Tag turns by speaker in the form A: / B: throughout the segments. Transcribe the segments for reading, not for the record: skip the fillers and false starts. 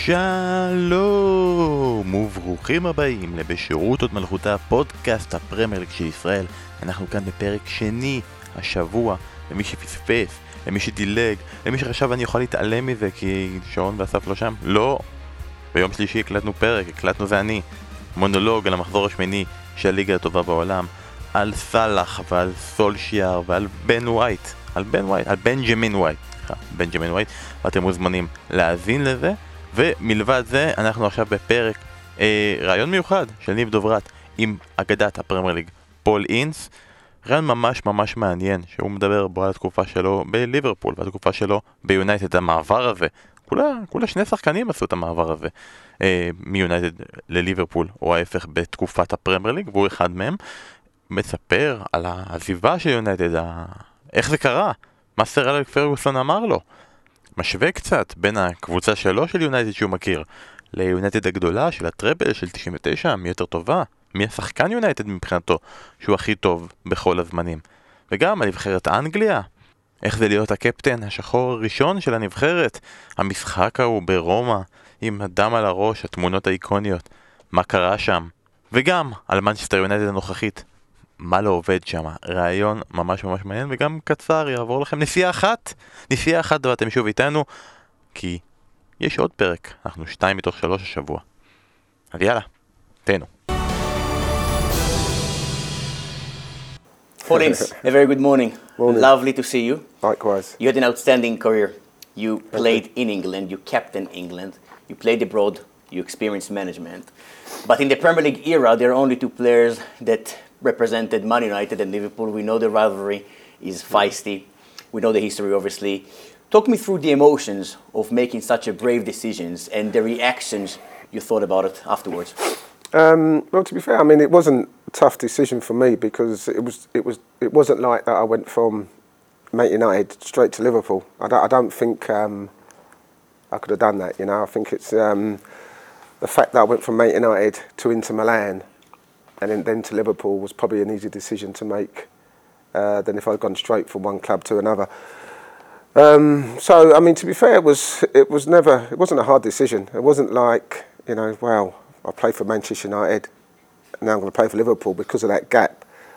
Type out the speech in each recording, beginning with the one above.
A: שלום וברוכים הבאים לבשירות עוד מלכותה, פודקאסט הפרמייר ליג של ישראל. אנחנו כאן בפרק שני השבוע, למי שפספס, למי שדילג, למי שחשב אני יכול להתעלם מזה כי שעון ואסף לא שם. לא, ביום שלישי הקלטנו פרק, הקלטנו זה אני, מונולוג על המחזור השמיני של הליגה הטובה בעולם, על סלאח ועל סולשיאר ועל בנג'מין ווייט, ואתם מוזמנים להאזין לזה. ומלבד זה אנחנו עכשיו בפרק רעיון מיוחד של ניב דוברת עם אגדת הפרמייר ליג פול אינס, רעיון ממש מעניין שהוא מדבר בו על התקופה שלו בליברפול והתקופה שלו ביונייטד. המעבר הזה, כולה שני שחקנים עשו את המעבר הזה מיונייטד לליברפול או ההפך בתקופת הפרמייר ליג, והוא אחד מהם. מספר על העזיבה של יונייטד, איך זה קרה, מה סר אלכס פרגוסון אמר לו, משווה קצת בין הקבוצה שלו של יונייטד שהוא מכיר ליונייטד הגדולה של הטראבל של 99, מי יותר טובה, מי השחקן יונייטד מבחינתו שהוא הכי טוב בכל הזמנים, וגם על נבחרת אנגליה, איך זה להיות הקפטן השחור הראשון של הנבחרת, המשחק ההוא ברומא עם הדם על הראש, התמונות האיקוניות, מה קרה שם, וגם על מנצ'סטר יונייטד הנוכחית, מה לא עובד שם. רעיון ממש מעניין וגם קצר, יעבור לכם נסיעה אחת ואתם שוב איתנו כי יש עוד פרק, אנחנו 2 מתוך 3 השבוע, אז יאללה, תהנו.
B: Paul Ince, a very good morning. Lovely to see you.
C: Likewise.
B: You had an outstanding career. You played in England, you captained England, you played abroad, you experienced management. But in the Premier League era, there are only 2 players that represented Man United and Liverpool. We know the rivalry is feisty. We know the history, obviously. Talk me through the emotions of making such a brave decisions and the reactions you thought about it afterwards.
C: Well, to be fair, I mean, it wasn't a tough decision for me because it wasn't like that I went from Man United straight to Liverpool. I don't think I could have done that, you know. I think it's the fact that I went from Man United to Inter Milan and then to Liverpool was probably an easier decision to make than if I'd gone straight from one club to another. So, I mean, to be fair, it wasn't a hard decision. It wasn't like, you know, wow, I played for Manchester United and now I'm going to play for Liverpool because of that gap.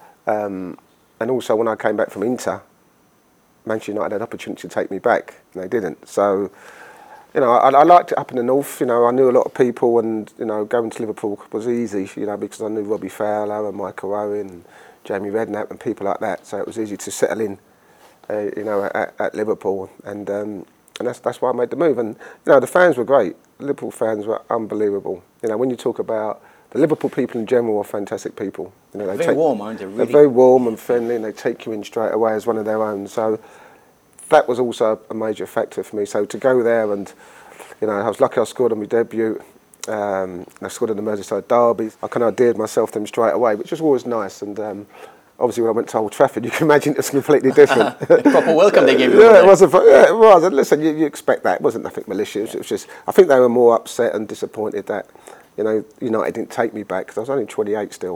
C: And also when I came back from Inter, Manchester United had an opportunity to take me back and they didn't. So, you know, I liked it up in the north. You know, I knew a lot of people, and you know, going to Liverpool was easy. You know, because I knew Robbie Fowler and Michael Owen, and Jamie Redknapp, and people like that. So it was easy to settle in, you know, at Liverpool, and that's why I made the move. And you know, the fans were great. The Liverpool fans were unbelievable. You know, when you talk about the Liverpool people in general are fantastic people. You know,
B: Very warm, aren't they? Really?
C: They're very warm and friendly, and they take you in straight away as one of their own. So that was also a major factor for me. So to go there and, you know, I was lucky I scored on my debut. I scored in the Merseyside derby. I kind of endeared myself to them straight away, which was always nice. And obviously when I went to Old Trafford, you can imagine it was completely different.
B: Proper welcome they gave you.
C: Yeah, it was. And listen, you expect that. It wasn't nothing malicious. It was just, I think they were more upset and disappointed that, you know, United didn't take me back because I was only 28 still.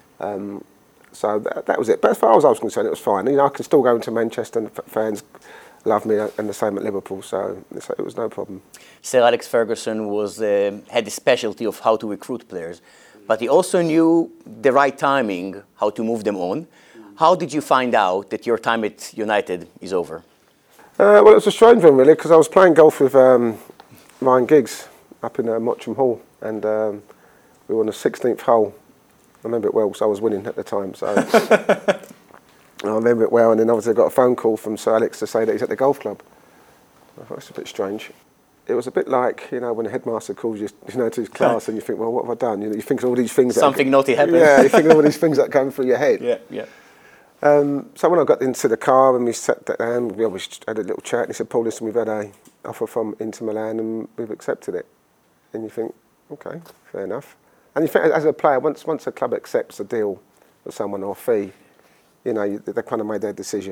C: So that was it. But as far as I was concerned, it was fine. You know, I can still go into Manchester and fans love me, and the same at Liverpool, so it was no problem.
B: Sir Alex Ferguson had the specialty of how to recruit players, but he also knew the right timing, how to move them on. How did you find out that your time at United is over?
C: Well, it was a strange one, really, because I was playing golf with Ryan Giggs up in Mottram Hall, and we were on the 16th hole. I remember it well, because I was winning at the time, so... I remember it well, and then obviously I got a phone call from Sir Alex to say that he's at the golf club. I thought, that's a bit strange. It was a bit like, you know, when the headmaster calls you, you know, to his class and you think, well, what have I done? You know, you think of all these things.
B: Something naughty happened.
C: Yeah, you think of all these things that come through your head.
B: Yeah.
C: So when I got into the car and we sat down, we always had a little chat, and he said, Paul, listen, we've had an offer from Inter Milan and we've accepted it. And you think, okay, fair enough. And you think, as a player, once a club accepts a deal with someone or a fee, you know, they kind of made their decision.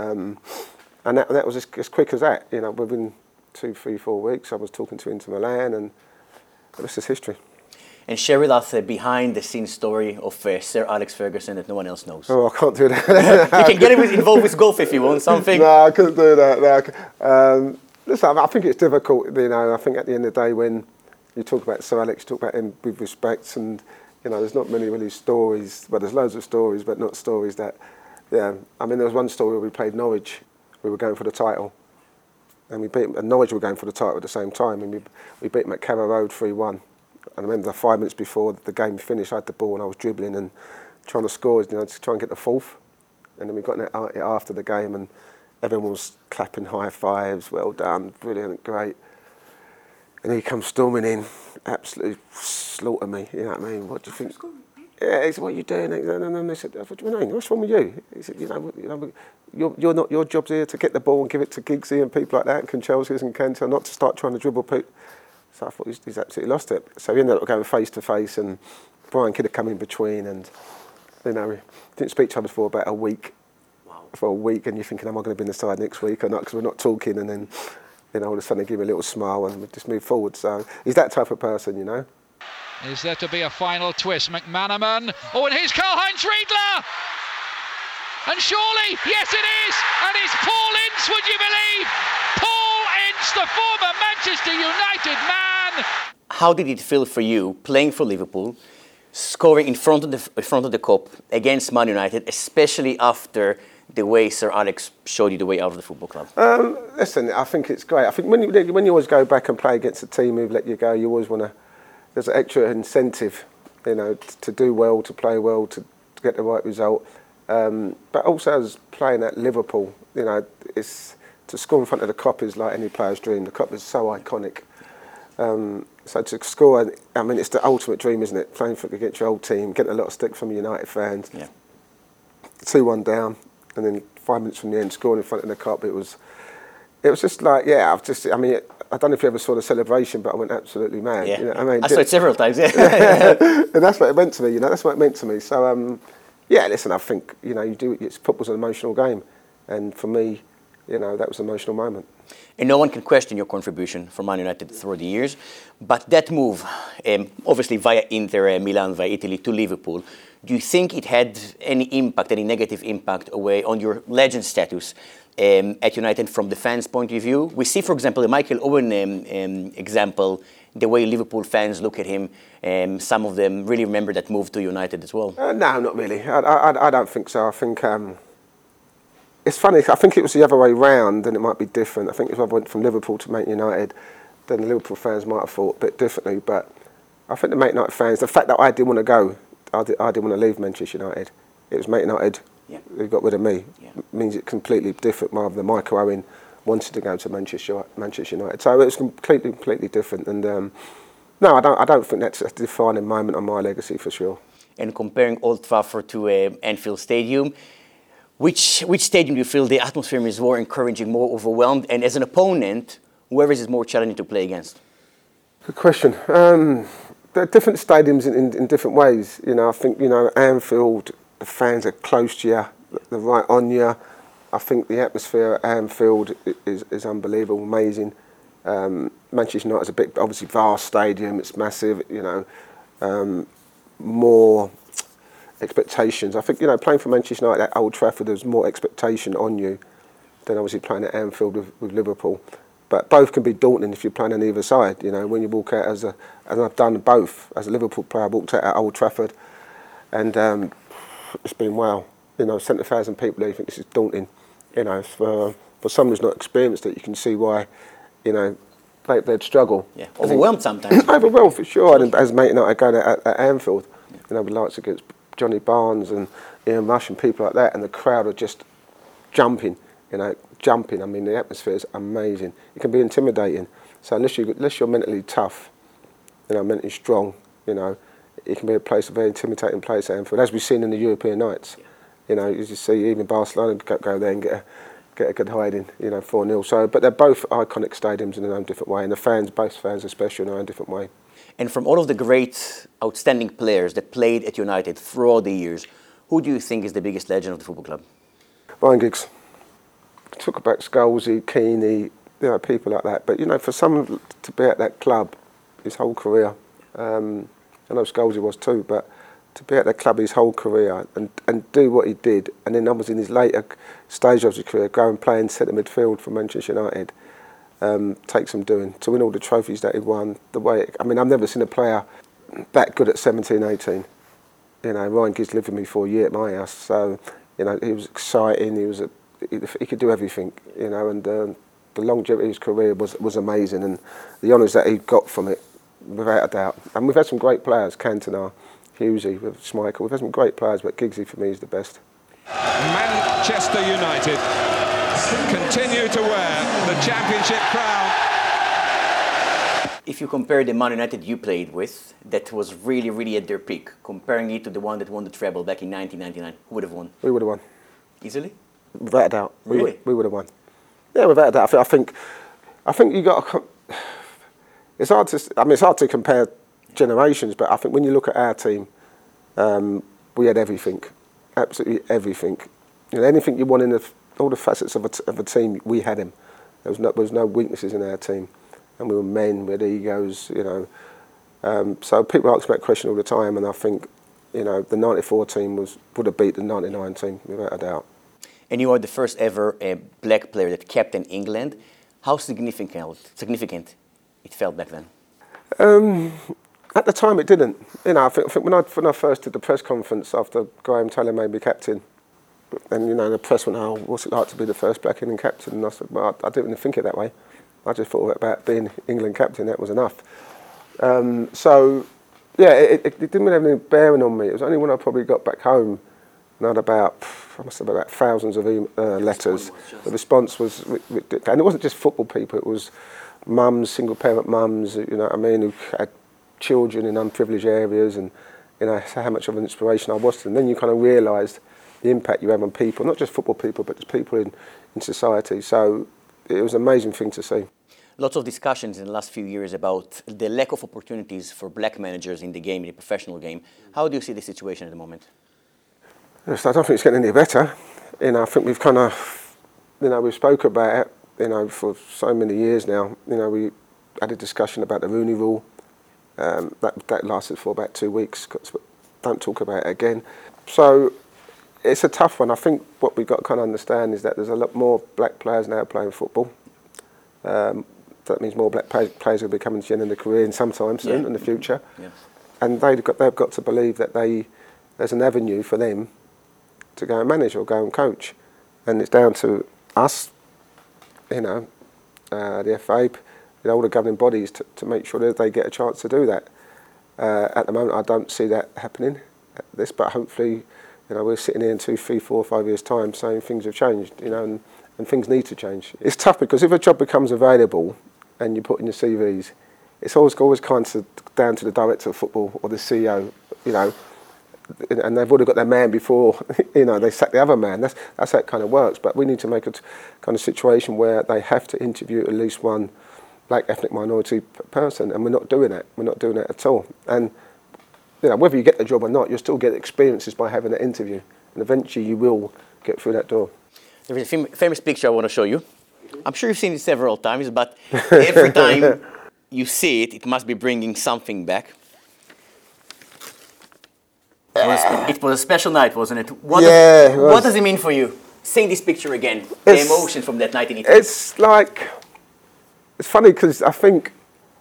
C: And that was as quick as that. You know, within 2, 3, 4 weeks, I was talking to Inter Milan, and the rest is history.
B: And share with us a behind-the-scenes story of Sir Alex Ferguson that no one else knows.
C: Oh, I can't do that.
B: You can get involved with golf if you want, something.
C: No, I couldn't do that. No, Listen, I think it's difficult. I think at the end of the day, when you talk about Sir Alex, you talk about him with respect, and there's not many really stories. Well, there's loads of stories, but not stories that. Yeah, I mean, there was one story where we played Norwich. We were going for the title, and we beat them, and Norwich were going for the title at the same time, and we beat them at Carrow Road 3-1. And I remember 5 minutes before the game finished, I had the ball and I was dribbling and trying to score, to try and get the fourth. And then we got it after the game, and everyone was clapping high fives, well done, brilliant, great. And he comes storming in, absolutely slaughter me, you know what I mean? What do you think? Yeah, he said, what are you doing? And they said, what do you mean? What's wrong with you? He said, you're not, your job's here to get the ball and give it to Giggsy and people like that, and Conchelsea's and Kenta, not to start trying to dribble people. So I thought he's absolutely lost it. So he ended up going face to face, and Brian Kidd had come in between, and we didn't speak to each other for about a week.
B: Wow.
C: For a week, and you're thinking, am I going to be in the side next week or not? Because we're not talking, and then all of a sudden they give me a little smile and we just move forward. So he's that type of person,
D: Is there to be a final twist? McManaman. Oh, and here's Karl-Heinz Riedler! And surely, yes it is! And it's Paul Ince, would you believe? Paul Ince, the former Manchester United man!
B: How did it feel for you playing for Liverpool, scoring in front of the cup against Man United, especially after the way Sir Alex showed you the way out of the football club?
C: Listen, I think it's great. I think when you always go back and play against a team who've let you go, you always want to. There's an extra incentive, to do well, to play well, to get the right result. But also as playing at Liverpool, it's to score in front of the Kop is like any player's dream. The Kop is so iconic. So to score, I mean, it's the ultimate dream, isn't it? Playing against your old team, getting a lot of stick from United fans.
B: Yeah.
C: 2-1 down, and then 5 minutes from the end, scoring in front of the Kop. It was just like, I don't know if you ever saw the celebration, but I went absolutely mad.
B: Yeah.
C: I mean,
B: I saw it several times. Yeah.
C: And that's what it meant to me. That's what it meant to me. So, listen, I think football's an emotional game, and for me, that was an emotional moment.
B: And no one can question your contribution for Man United through the years. But that move, obviously via Inter Milan, via Italy to Liverpool, do you think it had any negative impact away on your legend status at United from the fans' point of view? We see, for example, the Michael Owen example, the way Liverpool fans look at him. Some of them really remember that move to United as well.
C: No, not really. I don't think so. I think it's funny. I think it was the other way round, and it might be different. I think if I went from Liverpool to Man United, then the Liverpool fans might have thought a bit differently. But I think the Man United fans, the fact that I didn't want to go, I didn't want to leave Manchester United. It was Man United who got rid of me.
B: Yeah.
C: Means it's completely different rather than Michael Owen wanted to go to Manchester United. So it was completely different. And no, I don't think that's a defining moment on my legacy for sure.
B: And comparing Old Trafford to Anfield Stadium, which stadium do you feel the atmosphere is more encouraging, more overwhelmed? And as an opponent, whoever is more challenging to play against?
C: Good question. There are different stadiums in different ways. I think, Anfield, the fans are close to you, they're right on you. I think the atmosphere at Anfield is unbelievable, amazing. Manchester United is a big, obviously vast stadium, it's massive, more expectations. I think, playing for Manchester United at Old Trafford, there's more expectation on you than obviously playing at Anfield with Liverpool. But both can be daunting if you're playing on either side. When you walk out and I've done both. As a Liverpool player, I walked out at Old Trafford, and it's been wow. 70,000 people there, you think this is daunting. For someone who's not experienced it, you can see why, they'd struggle.
B: Yeah, overwhelmed sometimes.
C: Overwhelmed for sure. And as mate and I go at Anfield, with likes against Johnny Barnes and Ian Rush and people like that, and the crowd are just jumping. I mean, the atmosphere is amazing. It can be intimidating. So unless you're mentally tough, mentally strong, it can be a very intimidating place, Anfield, as we've seen in the European nights. You just see even Barcelona go there and get a good hiding, 4-0. So, but they're both iconic stadiums in their own different way, and both fans are special in their own different way.
B: And from all of the great, outstanding players that played at United throughout the years, who do you think is the biggest legend of the football club?
C: Ryan Giggs. Talk about Scholesy, Keaney, people like that. But, for someone to be at that club his whole career, I know Scholesy was too, but to be at that club his whole career and do what he did, and then obviously in his later stage of his career, go and play in centre midfield for Manchester United, takes some doing. To win all the trophies that he won, I've never seen a player that good at 17, 18. You know, Ryan Giggs lived with me for a year at my house, so, you know, he was exciting, he could do everything, you know, and the longevity of his career was amazing, and the honours that he got from it, without a doubt. And we've had some great players, Cantona, Hughesy, Schmeichel, we've had some great players, but Giggsy for me is the best.
E: Manchester United continue to wear the championship crown.
B: If you compare the Man United you played with, that was really, really at their peak, comparing it to the one that won the treble back in 1999, who would have won?
C: We would have won.
B: Easily?
C: Without a doubt.
B: Really?
C: We would have won. Yeah, without a doubt. I think you got. It's hard to compare generations, but I think when you look at our team, we had everything, absolutely everything. You know, anything you want in all the facets of a team, we had him. There was no weaknesses in our team, and we were men with egos. You know, so people ask me that question all the time, and I think, you know, the '94 team would have beat the '99 team without a doubt.
B: And you are the first ever black player that captained England. How significant it felt back then?
C: At the time, it didn't. You know, I think when I first did the press conference after Graham Taylor made me captain, and, you know, the press went, "Oh, what's it like to be the first black England captain?" And I said, "Well, I didn't even think it that way. I just thought about being England captain. That was enough." So, yeah, it didn't really have any bearing on me. It was only when I probably got back home and I must have about thousands of letters. The response was ridiculous. And it wasn't just football people, it was mums, single parent mums, you know what I mean, who had children in unprivileged areas, and, you know, how much of an inspiration I was to them. Then you kind of realised the impact you have on people, not just football people, but just people in society. So it was an amazing thing to see.
B: Lots of discussions in the last few years about the lack of opportunities for black managers in the game, in the professional game. How do you see the situation at the moment?
C: Yes, I don't think it's getting any better. You know, I think we've kind of, you know, we've spoke about it, you know, for so many years now. You know, we had a discussion about the Rooney Rule. That lasted for about 2 weeks. Don't talk about it again. So it's a tough one. I think what we've got to kind of understand is that there's a lot more black players now playing football. That means more black players will be coming to the end of their career in some time soon in the future. Yes. And they've got to believe that there's an avenue for them to go and manage or go and coach. And it's down to us, you know, the FA, you know, all the governing bodies to make sure that they get a chance to do that. At the moment, I don't see that happening, but hopefully, you know, we're sitting here in 2, 3, 4, 5 years' time saying things have changed, you know, and things need to change. It's tough because if a job becomes available and you put in your CVs, it's always kind of down to the director of football or the CEO, you know, and they've already got their man before, you know, they sack the other man. That's how it kind of works. But we need to make a kind of situation where they have to interview at least one black ethnic minority person, and we're not doing that. We're not doing that at all. And, you know, whether you get the job or not, you'll still get experiences by having that interview, and eventually you will get through that door.
B: There is a famous picture I want to show you. I'm sure you've seen it several times, but every time you see it, it must be bringing something back. It was a special night, wasn't it? What does it mean for you? Seeing this picture again, the emotion from that night in Italy.
C: It's funny because I think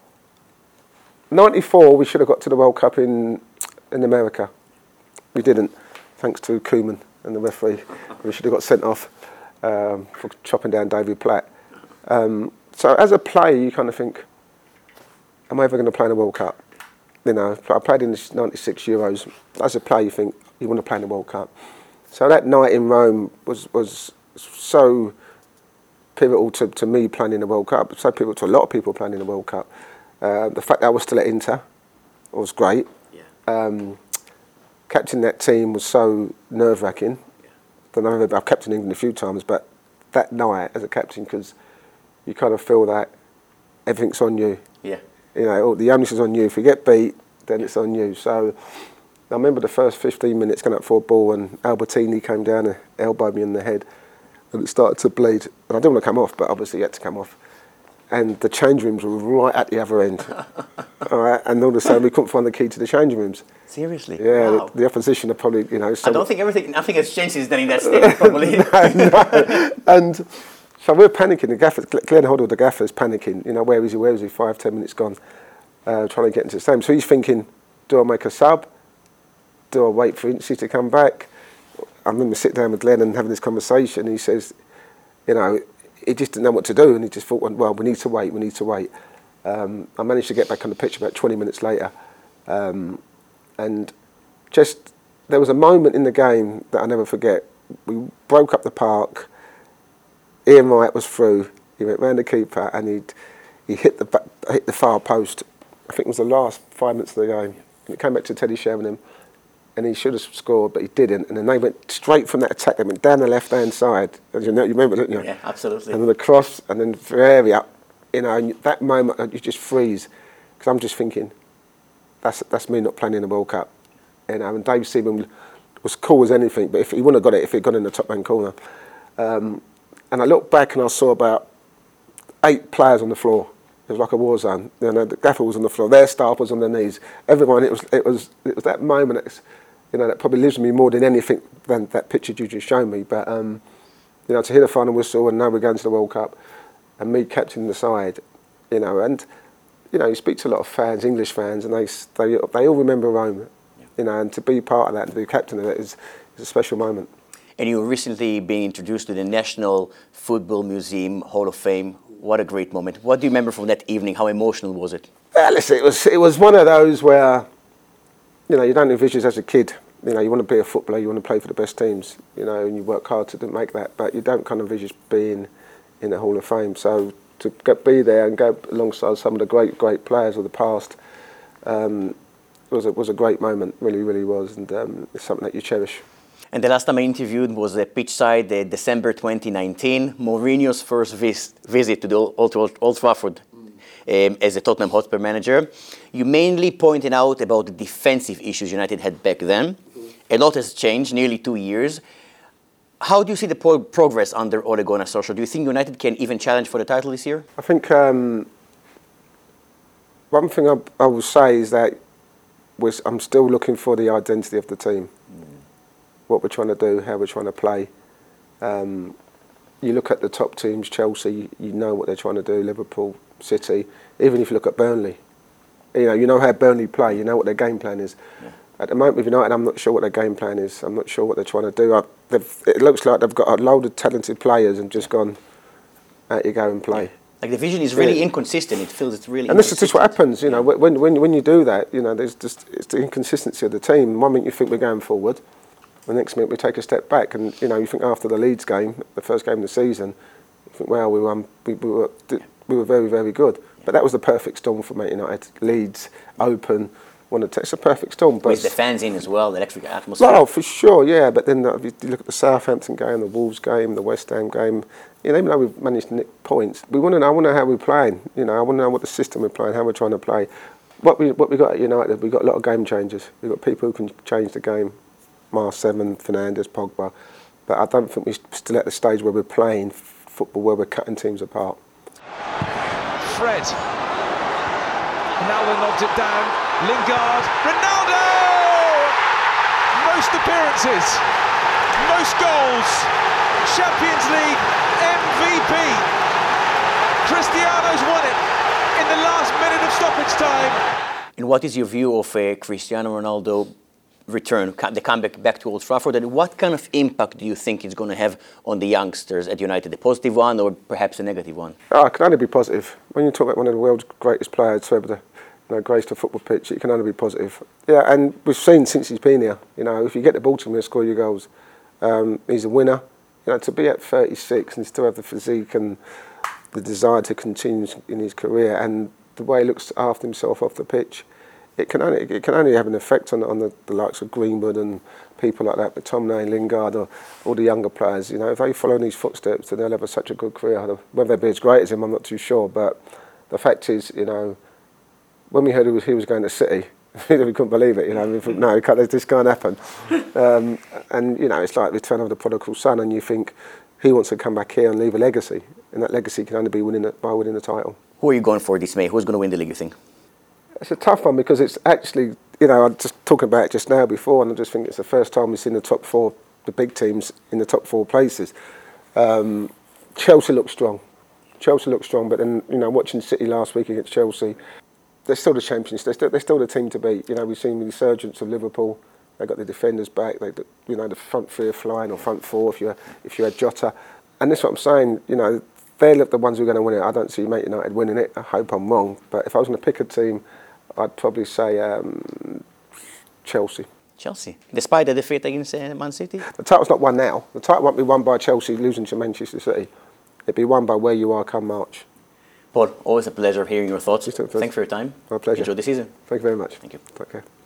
C: '94 we should have got to the World Cup in America. We didn't, thanks to Koeman and the referee. We should have got sent off for chopping down David Platt. So as a player, you kind of think, am I ever going to play in the World Cup? You know, I played in the '96 Euros. As a player, you think you want to play in the World Cup. So that night in Rome was so pivotal to me playing in the World Cup. So pivotal to a lot of people playing in the World Cup. The fact that I was still at Inter was great. Yeah. Captaining that team was so nerve-wracking. Yeah. I've captained England a few times, but that night as a captain, because you kind of feel that everything's on you. Yeah. You know, the onus is on you. If you get beat, then it's on you. So I remember the first 15 minutes going up for a ball, and Albertini came down and elbowed me in the head, and it started to bleed. And I didn't want to come off, but obviously it had to come off. And the change rooms were right at the other end. All right, and all of a sudden we couldn't find the key to the change rooms.
B: Seriously?
C: Yeah,
B: wow.
C: the opposition are probably, you know.
B: I don't think nothing has changed since then in that state, probably.
C: No. And So we're panicking. The gaffers, Glenn Hoddle, the gaffer's panicking. You know, where is he? 5-10 minutes gone, trying to get into the stadium. So he's thinking, do I make a sub? Do I wait for Ince to come back? I remember sitting down with Glenn and having this conversation. He says, you know, he just didn't know what to do, and he just thought, well, we need to wait. I managed to get back on the pitch about 20 minutes later, and just there was a moment in the game that I never forget. We broke up the park. Ian Wright was through. He went round the keeper and he hit the far post. I think it was the last 5 minutes of the game. And it came back to Teddy Sheringham, and he should have scored, but he didn't. And then they went straight from that attack. They went down the left-hand side. As you know, you remember, didn't you?
B: Yeah, absolutely.
C: And then the cross, and then Ferrari up. You know, and that moment you just freeze, because I'm just thinking, that's me not playing in the World Cup. You know, and Dave Seaman was cool as anything, but if he wouldn't have got it, if he'd gone in the top hand corner. And I looked back and I saw about 8 players on the floor. It was like a war zone. You know, the gaffer was on the floor, their staff was on their knees. Everyone, it was that moment that's, you know, that probably lives with me more than anything than that picture you just showed me. But you know, to hear the final whistle and now we're going to the World Cup, and me captaining the side, you know, and you know, you speak to a lot of fans, English fans, and they all remember Rome, you know, and to be part of that, and to be captain of it is a special moment.
B: And you recently been introduced to the National Football Museum Hall of Fame. What a great moment. What do you remember from that evening? How emotional was it?
C: Well, listen, it was one of those where, you know, you don't envisage as a kid, you know, you want to be a footballer, you want to play for the best teams, you know, and you work hard to make that, but you don't kind of envisage being in the Hall of Fame. So to be there and go alongside some of the great players of the past was a great moment, really was, and it's something that you cherish.
B: And the last time I interviewed was pitchside, December 2019, Mourinho's first visit to the Old Trafford as a Tottenham Hotspur manager. You mainly pointed out about the defensive issues United had back then. A lot has changed, nearly 2 years. How do you see the progress under Ole Gunnar Solskjaer? Do you think United can even challenge for the title this year?
C: I think one thing I will say is that I'm still looking for the identity of the team. What we're trying to do, how we're trying to play. You look at the top teams, Chelsea, you know what they're trying to do, Liverpool, City. Even if you look at Burnley, you know how Burnley play, you know what their game plan is. Yeah. At the moment with United, I'm not sure what their game plan is. I'm not sure what they're trying to do. It looks like they've got a load of talented players and just gone, out you go and play. Yeah.
B: Like the vision is really inconsistent. It feels it's really.
C: And this is just what happens, you know. When you do that, you know, it's the inconsistency of the team. One minute you think we're going forward, the next minute we take a step back, and you know, you think after the Leeds game, the first game of the season, you think, well, we were very, very good. But that was the perfect storm for Man United. Leeds open. It's a perfect storm. But
B: with the fans in as well, the electric atmosphere.
C: Oh, for sure, yeah. But then if you look at the Southampton game, the Wolves game, the West Ham game, you know, even though we've managed to nick points, I want to know how we're playing. You know, I want to know what the system we're playing, how we're trying to play. What we got at United, we've got a lot of game changers. We've got people who can change the game. Marseille, Fernandes, Pogba. But I don't think we're still at the stage where we're playing football, where we're cutting teams apart.
E: Fred. Ronaldo knobs it down. Lingard, Ronaldo! Most appearances, most goals, Champions League MVP. Cristiano's won it in the last minute of stoppage time.
B: And what is your view of Cristiano Ronaldo return, the comeback back to Old Trafford, and what kind of impact do you think it's going to have on the youngsters at United, a positive one or perhaps a negative one?
C: Oh, it can only be positive. When you talk about one of the world's greatest players to ever grace the football pitch, it can only be positive. Yeah, and we've seen since he's been here, you know, if you get the ball to him, he'll score your goals. He's a winner. You know, to be at 36 and still have the physique and the desire to continue in his career, and the way he looks after himself off the pitch, it can only have an effect on the likes of Greenwood and people like that, but McTominay, Lingard, or all the younger players. You know, if they follow in his footsteps, then they'll have such a good career. Whether they'll be as great as him, I'm not too sure. But the fact is, you know, when we heard he was going to City, we couldn't believe it. You know, we thought, no, this can't happen. And you know, it's like Return of the Prodigal Son, and you think he wants to come back here and leave a legacy, and that legacy can only be by winning the title.
B: Who are you going for this May? Who's going to win the league, you think?
C: It's a tough one because it's actually, you know, I'm just talking about it just now before, and I just think it's the first time we've seen the top four, the big teams in the top four places. To Chelsea look strong. But then, watching City last week against Chelsea, they're still the champions. They're still the team to beat. We've seen the resurgence of Liverpool. They got the defenders back. The front three are flying, or front four if you had Jota. And that's what I'm saying. They're the ones who are going to win it. I don't see Man United winning it. I hope I'm wrong. But if I was going to pick a team, I'd probably say Chelsea.
B: Chelsea, despite the defeat against Man City?
C: The title's not won now. The title won't be won by Chelsea losing to Manchester City. It'll be won by where you are come March.
B: Paul, always a pleasure hearing your thoughts.
C: Thanks
B: for your time.
C: My pleasure.
B: Enjoy the season.
C: Thank you very much.
B: Thank you.
C: Take care.